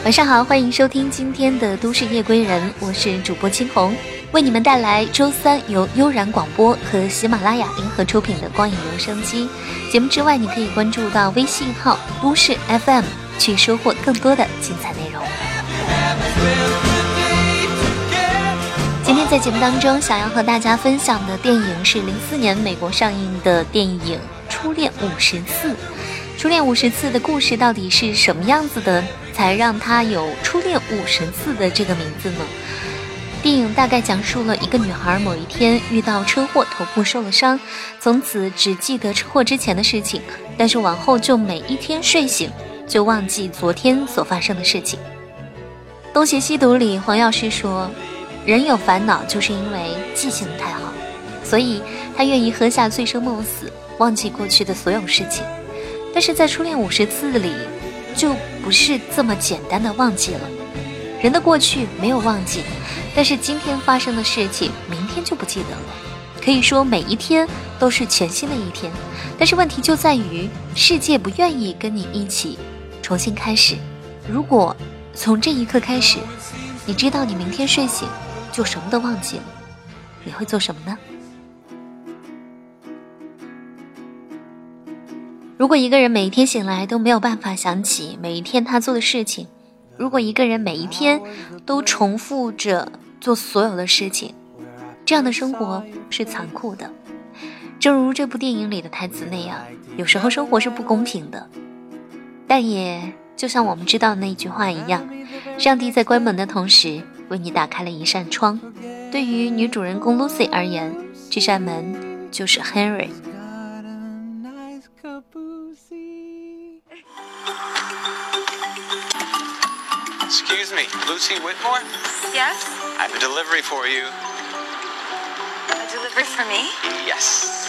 晚上好，欢迎收听今天的都市夜归人，我是主播青红，为你们带来周三由悠然广播和喜马拉雅联合出品的光影留声机。节目之外，你可以关注到微信号都市 FM 去收获更多的精彩内容。今天在节目当中想要和大家分享的电影是04年美国上映的电影《初恋50次》。初恋50次的故事到底是什么样子的，才让它有初恋50次的这个名字呢？电影大概讲述了一个女孩某一天遇到车祸，头部受了伤，从此只记得车祸之前的事情，但是往后就每一天睡醒就忘记昨天所发生的事情。东邪西毒里黄药师说，人有烦恼就是因为记性太好，所以他愿意喝下醉生梦死，忘记过去的所有事情。但是在初恋50次里就不是这么简单的忘记了。人的过去没有忘记，但是今天发生的事情明天就不记得了。可以说每一天都是全新的一天，但是问题就在于世界不愿意跟你一起重新开始。如果从这一刻开始，你知道你明天睡醒就什么都忘记了，你会做什么呢？如果一个人每一天醒来都没有办法想起每一天他做的事情，如果一个人每一天都重复着做所有的事情，这样的生活是残酷的。正如这部电影里的台词那样，有时候生活是不公平的，但也就像我们知道的那句话一样，上帝在关门的同时为你打开了一扇窗。对于女主人公 Lucy 而言，这扇门就是 Henry。 Excuse me, Lucy Whitmore? Yes? I have a delivery for you. A delivery for me? Yes.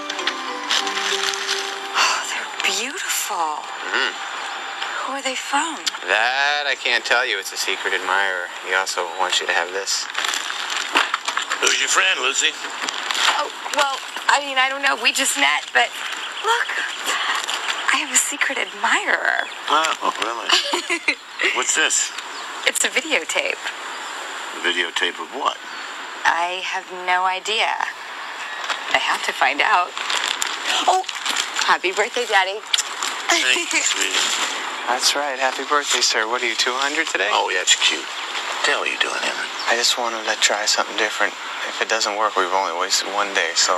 Oh, they're beautiful. Who are they from? That I can't tell you. It's a secret admirer. He also wants you to have this. Who's your friend, Lucy? Oh, well, I don't know. We just met, but look, I have a secret admirer. Oh, really? What's this? It's a videotape. A videotape of what? I have no idea. I have to find out. Oh, happy birthday, Daddy. Thank you, sweetie. That's right. Happy birthday, sir. What are you, 200 today? Oh, yeah, it's cute. What the hell are you doing, Evan? I just wanted to try something different. If it doesn't work, we've only wasted one day, so...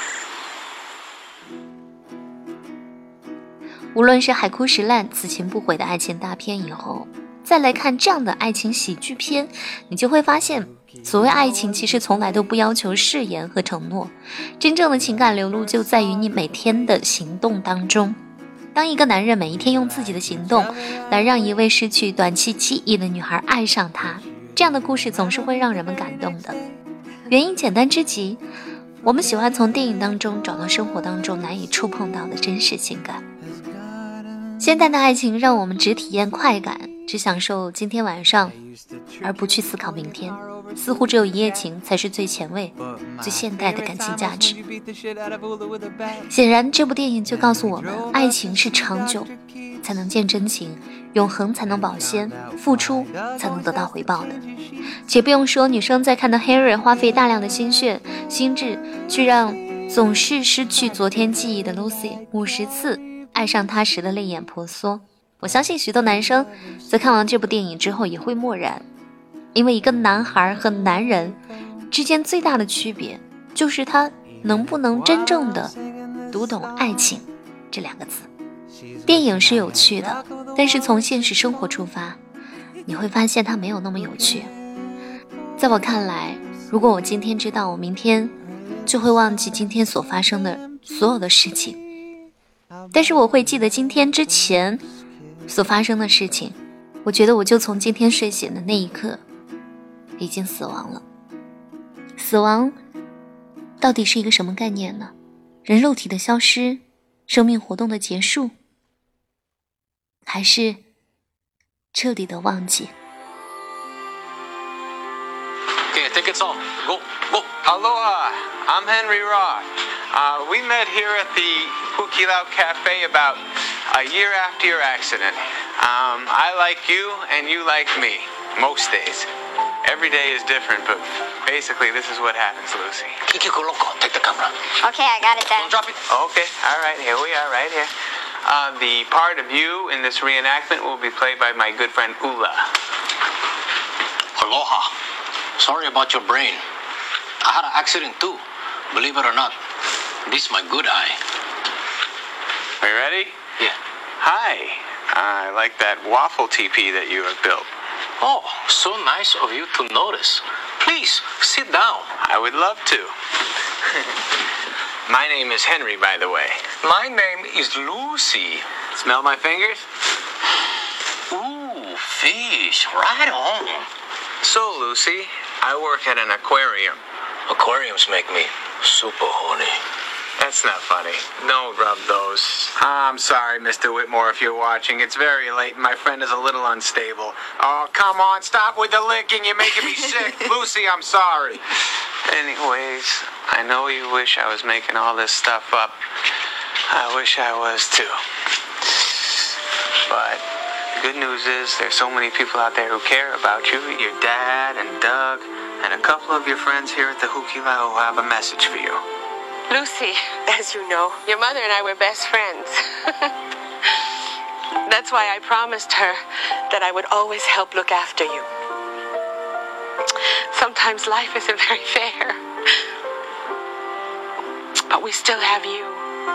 无论是海枯石烂、此情不悔的爱情大片以后，再来看这样的爱情喜剧片，你就会发现，所谓爱情其实从来都不要求誓言和承诺，真正的情感流露就在于你每天的行动当中。当一个男人每一天用自己的行动来让一位失去短期记忆的女孩爱上他，这样的故事总是会让人们感动的。原因简单之极，我们喜欢从电影当中找到生活当中难以触碰到的真实情感。现代的爱情让我们只体验快感，只享受今天晚上，而不去思考明天。似乎只有一夜情才是最前卫、最现代的感情价值。显然，这部电影就告诉我们，爱情是长久才能见真情，永恒才能保鲜，付出才能得到回报的。且不用说，女生在看到 Henry 花费大量的心血、心智，去让总是失去昨天记忆的 Lucy 50次爱上他时的泪眼婆娑，我相信许多男生在看完这部电影之后也会默然，因为一个男孩和男人之间最大的区别，就是他能不能真正的读懂爱情这两个字。电影是有趣的，但是从现实生活出发，你会发现它没有那么有趣。在我看来，如果我今天知道我明天就会忘记今天所发生的所有的事情，但是我会记得今天之前所发生的事情，我觉得我就从今天睡醒的那一刻已经死亡了。死亡到底是一个什么概念呢？人肉体的消失，生命活动的结束，还是彻底的忘记？ Okay, I think it's on. Go, go. Aloha, I'm Henry Roth. We met here at the Hukilau Cafe about a year after your accident. I like you and you like me. Most days. Every day is different, but basically this is what happens, Lucy. Kiki Loco, take the camera. Okay, I got it then. Don't drop it. Okay, all right, here we are, right here. The part of you in this reenactment will be played by my good friend Ula. Aloha. Sorry about your brain. I had an accident too. Believe it or not. This is my good eye. Are you ready? Yeah. Hi. I like that waffle teepee that you have built. Oh, so nice of you to notice. Please, sit down. I would love to. My name is Henry, by the way. My name is Lucy. Smell my fingers? Ooh, fish. Right on. So, Lucy, I work at an aquarium. Aquariums make me super horny. That's not funny. Don't rub those. I'm sorry, Mr. Whitmore, if you're watching. It's very late and my friend is a little unstable. Oh, come on, stop with the licking. You're making me sick. Lucy, I'm sorry. Anyways, I know you wish I was making all this stuff up. I wish I was too. But the good news is there's so many people out there who care about you. Your dad and Doug and a couple of your friends here at the Hukila who have a message for you. Lucy, as you know, your mother and I were best friends. That's why I promised her that I would always help look after you. Sometimes life isn't very fair, but we still have you.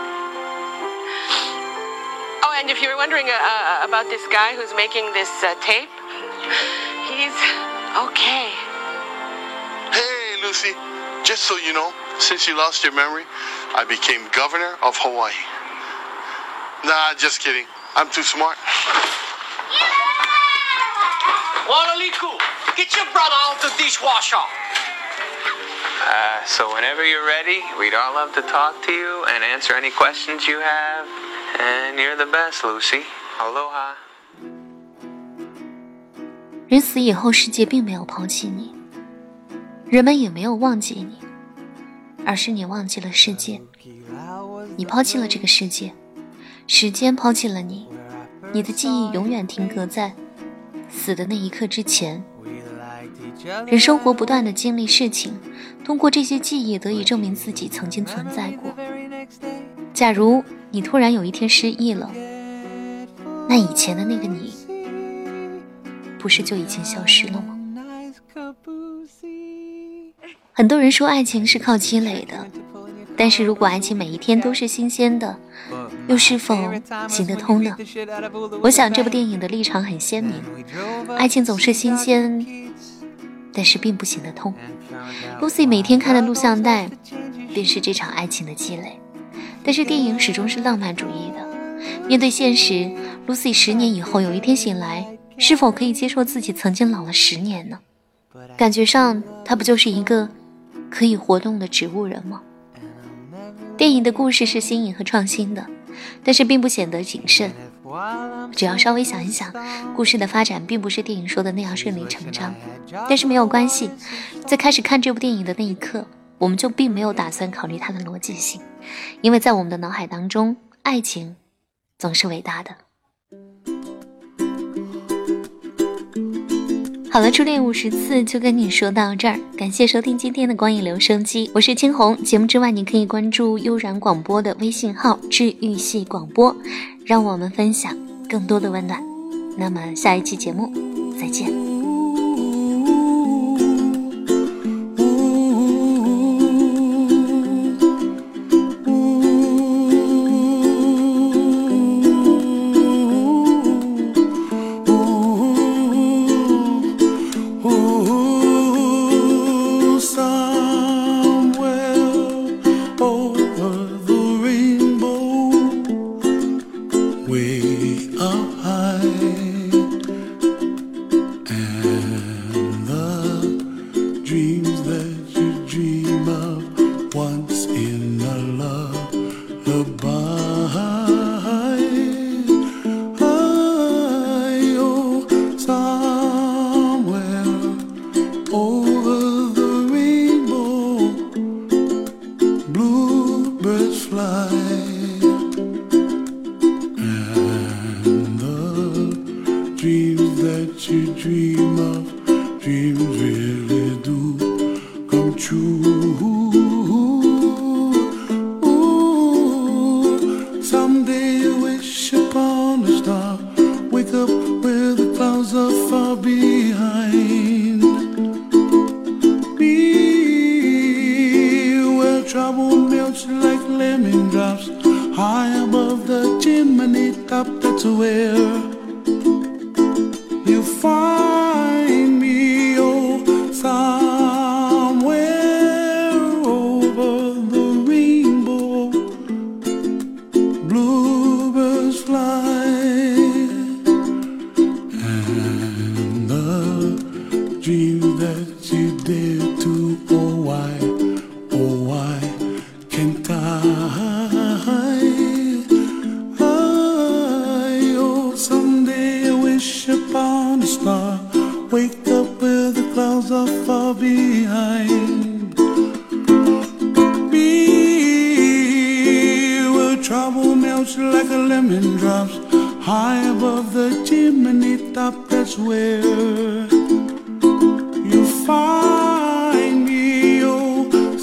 Oh, and if you were wondering about this guy who's making this tape, he's okay. Hey, Lucy, just so you know, since you lost your memory, I became governor of Hawaii. Nah, just kidding. I'm too smart. Walaliku, get your brother out the dishwasher. So whenever you're ready, we'd all love to talk to you and answer any questions you have. And you're the best, Lucy. Aloha. 人死以后，世界并没有抛弃你，人们也没有忘记你，而是你忘记了世界。你抛弃了这个世界，时间抛弃了你，你的记忆永远停格在死的那一刻之前。人生活不断地经历事情，通过这些记忆得以证明自己曾经存在过。假如你突然有一天失忆了，那以前的那个你不是就已经消失了吗？很多人说爱情是靠积累的，但是如果爱情每一天都是新鲜的，又是否行得通呢？我想这部电影的立场很鲜明，爱情总是新鲜，但是并不行得通。Lucy 每天看的录像带便是这场爱情的积累，但是电影始终是浪漫主义的。面对现实， Lucy 10年以后有一天醒来，是否可以接受自己曾经老了10年呢？感觉上她不就是一个可以活动的植物人吗？电影的故事是新颖和创新的，但是并不显得谨慎。只要稍微想一想，故事的发展并不是电影说的那样顺理成章。但是没有关系，在开始看这部电影的那一刻，我们就并没有打算考虑它的逻辑性，因为在我们的脑海当中，爱情总是伟大的。好了，初恋50次就跟你说到这儿，感谢收听今天的光影留声机，我是青红。节目之外，你可以关注悠然广播的微信号治愈系广播，让我们分享更多的温暖。那么下一期节目再见。 Way up high, true. Ooh, someday I wish upon a star, wake up where the clouds are far behind me, where trouble melts like lemon drops high above the chimney top. That's where you find me, oh, somewhere over the rainbow. Bluebirds fly, and the dream that you dare to, oh why can't I? Oh, someday I wish upon a star, wake up where the clouds are far behind me, where trouble melts like a lemon drops high above the chimney top. That's where you find me, oh,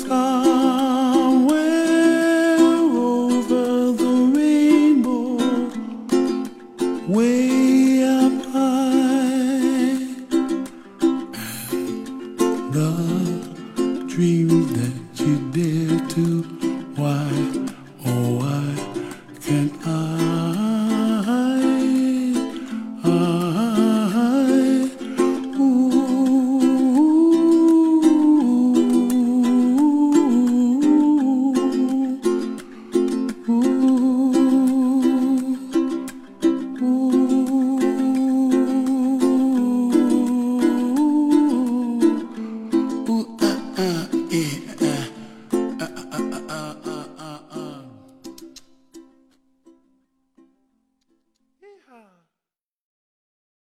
somewhere over the rainbow, way up high. The dreams that you dare to, why, oh why can't I? Ooh,